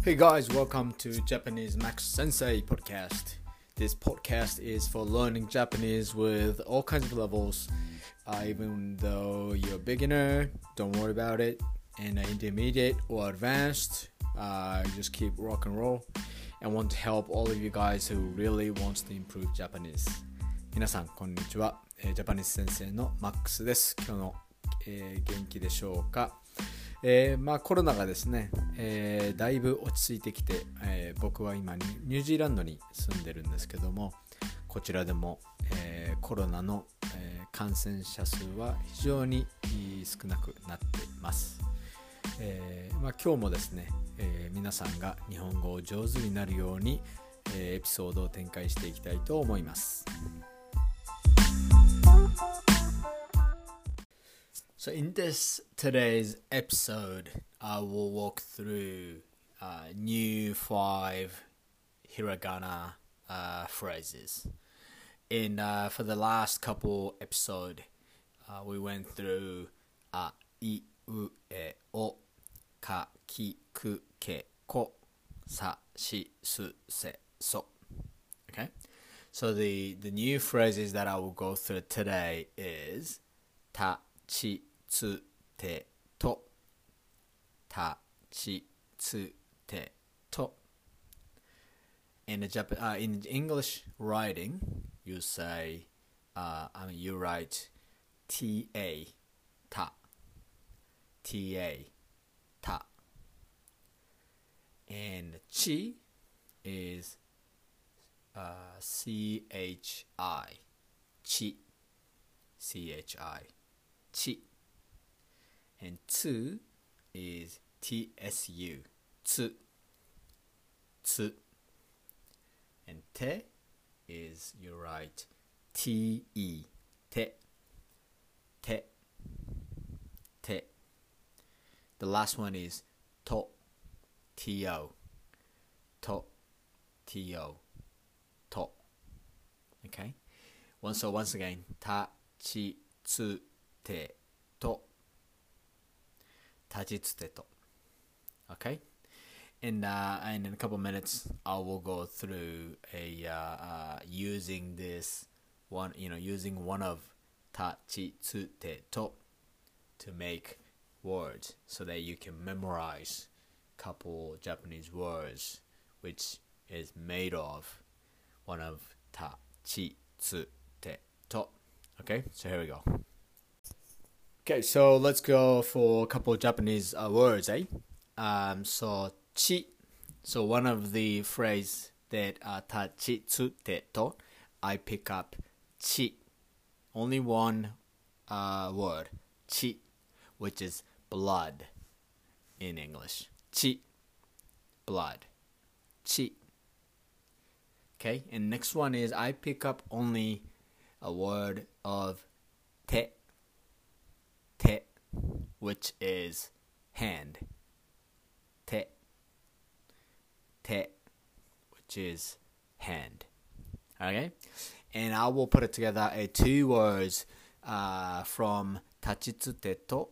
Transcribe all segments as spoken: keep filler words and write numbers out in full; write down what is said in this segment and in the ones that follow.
Hey guys, welcome to Japanese Max Sensei podcast. This podcast is for learning Japanese with all kinds of levels. Uh, even though you're a beginner, don't worry about it. And intermediate or advanced, uh, just keep rock and roll. And want to help all of you guys who really wants to improve Japanese. 皆さんこんにちは。ジャパニーズ先生のマックスです。今日の、えー、元気でしょうか。えー、まあコロナがですね、えー、だいぶ落ち着いてきて、えー、僕は今ニュージーランドに住んでるんですけども、こちらでも、えー、コロナの、えー、感染者数は非常に少なくなっています。えーまあ、今日もですね、えー、皆さんが日本語を上手になるように、えー、エピソードを展開していきたいと思います。So in this today's episode, I will walk through uh, new five hiragana uh, phrases. And uh, for the last couple episode, uh, we went through a, I, U, E, O, Ka, Ki, Ku, Ke, Ko, Sa, Shi, Su, Se, So. Okay? So the, the new phrases that I will go through today is Ta, Chi, Tsu, Te, To. Ta, Chi, Tsu, Te, To. In the Jap- uh, in English writing, you say, uh, I mean, you write T A, Ta, T A, Ta. And Chi is uh, C H I, Chi, C H I, Chi. And Tsu is T S U, Tsu, Tsu. And Te is, you write T E, Te, Te, Te. The last one is To, T O, To, T O, To. Okay? Once, so once again, Ta, Chi, Tsu, Te, To. Tajitsute. Okay? And, uh, and in a couple minutes, I will go through a uh, uh, using this one, you know, using one of Tachitsute to to make words so that you can memorize a couple Japanese words, which is made of one of Tachitsute to. Okay? So here we go. Okay, so let's go for a couple of Japanese uh, words, eh? Um, so, chi. So one of the phrase that uh, tachitsute to, I pick up chi. Only one uh, word, chi, which is blood in English. Chi, blood. Chi. Okay, and next one is I pick up only a word of te. Te, which is hand. Te, te, which is hand. Okay, and I will put it together a two words uh, from tachitsute to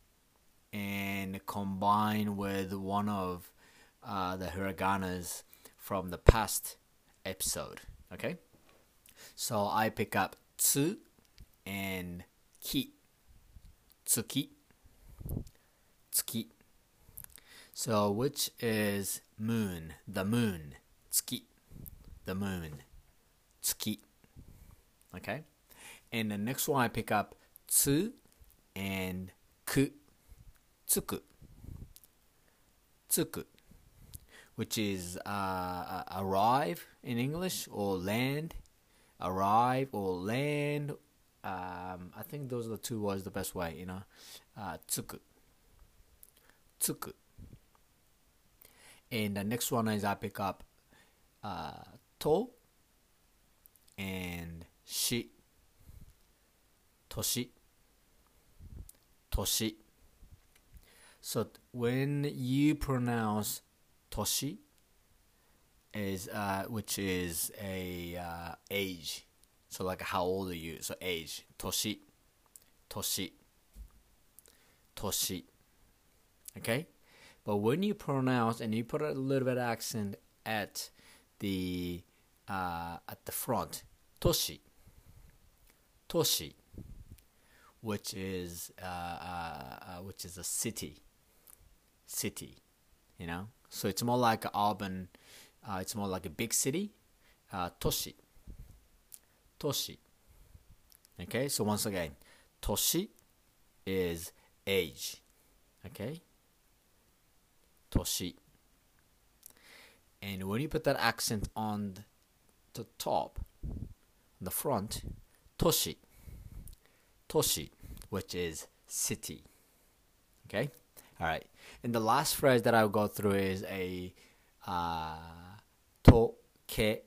and combine with one of uh, the hiraganas from the past episode. Okay, so I pick up tsu and ki. Tsuki, tsuki. So which is moon, the moon, tsuki, the moon, tsuki. Okay? And the next one I pick up tsu and ku, tsuku, tsuku, which is uh, arrive in English or land, arrive or land. Um, I think those are the two words the best way, you know. Uh, tsuku. Tsuku. And the next one is I pick up uh, to and shi. Toshi. Toshi. So when you pronounce toshi, is uh, which is a uh, age. So like how old are you? So age. Toshi. Toshi. Toshi. Okay? But when you pronounce and you put a little bit of accent at the uh, at the front, toshi, toshi, which is uh, uh, uh, which is a city, city, you know. So it's more like an urban. Uh, it's more like a big city. Uh, toshi, toshi. Okay. So once again, toshi is age. Okay. Toshi. And when you put that accent on the top, on the front, toshi, toshi, which is city. Okay? All right. And the last phrase that I'll go through is a uh, tokei,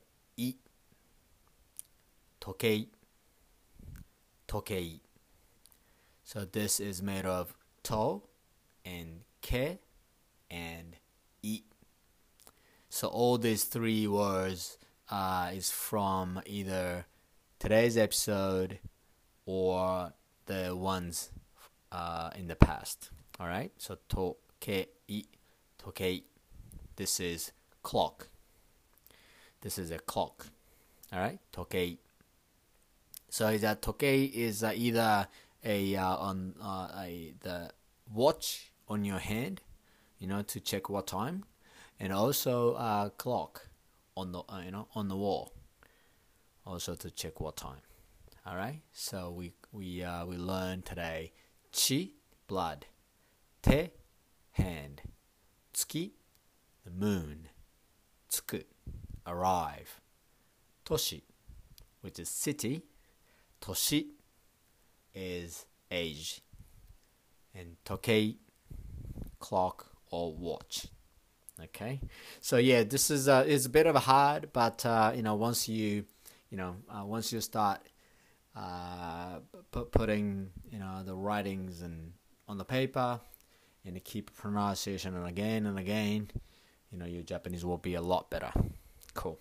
tokei, tokei. So this is made of to and ke and i. So all these three words uh, is from either today's episode or the ones uh, in the past. All right. So tokei, tokei. This is clock. This is a clock. All right. Tokei. So that tokei is uh, either a uh, on uh, a the watch on your hand, you know, to check what time, and also a clock on the uh, you know on the wall, also to check what time. All right. So we we uh, we learned today chi, blood, te, hand, tsuki, the moon, tsuku, arrive, toshi, which is city, toshi is age, and tokei, clock or watch. Okay, so yeah, this is uh, is a bit of a hard, but uh, you know once you you know uh, once you start uh, p- putting you know the writings and on the paper and you keep pronunciation and again and again, you know your Japanese will be a lot better. Cool.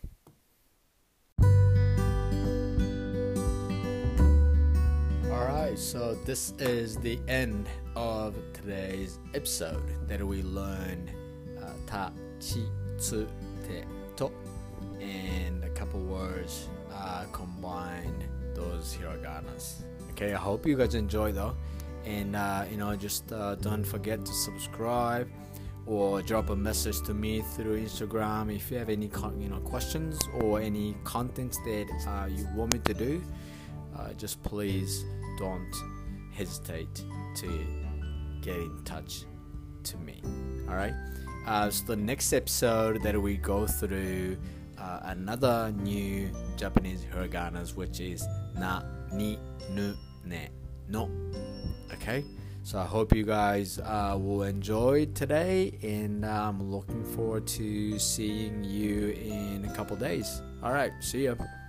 Alright, so this is the end of today's episode that we learned uh, ta, chi, tsu, te, to, and a couple words uh, combined those hiraganas. Okay, I hope you guys enjoy though, and uh, you know just uh, don't forget to subscribe or drop a message to me through Instagram if you have any con- you know questions or any contents that uh, you want me to do. Uh, just please don't hesitate to get in touch to me. All right. Uh, so the next episode that we go through uh, another new Japanese hiraganas, which is na, ni, nu, ne, no. Okay. So I hope you guys uh, will enjoy today, and I'm looking forward to seeing you in a couple days. All right. See ya.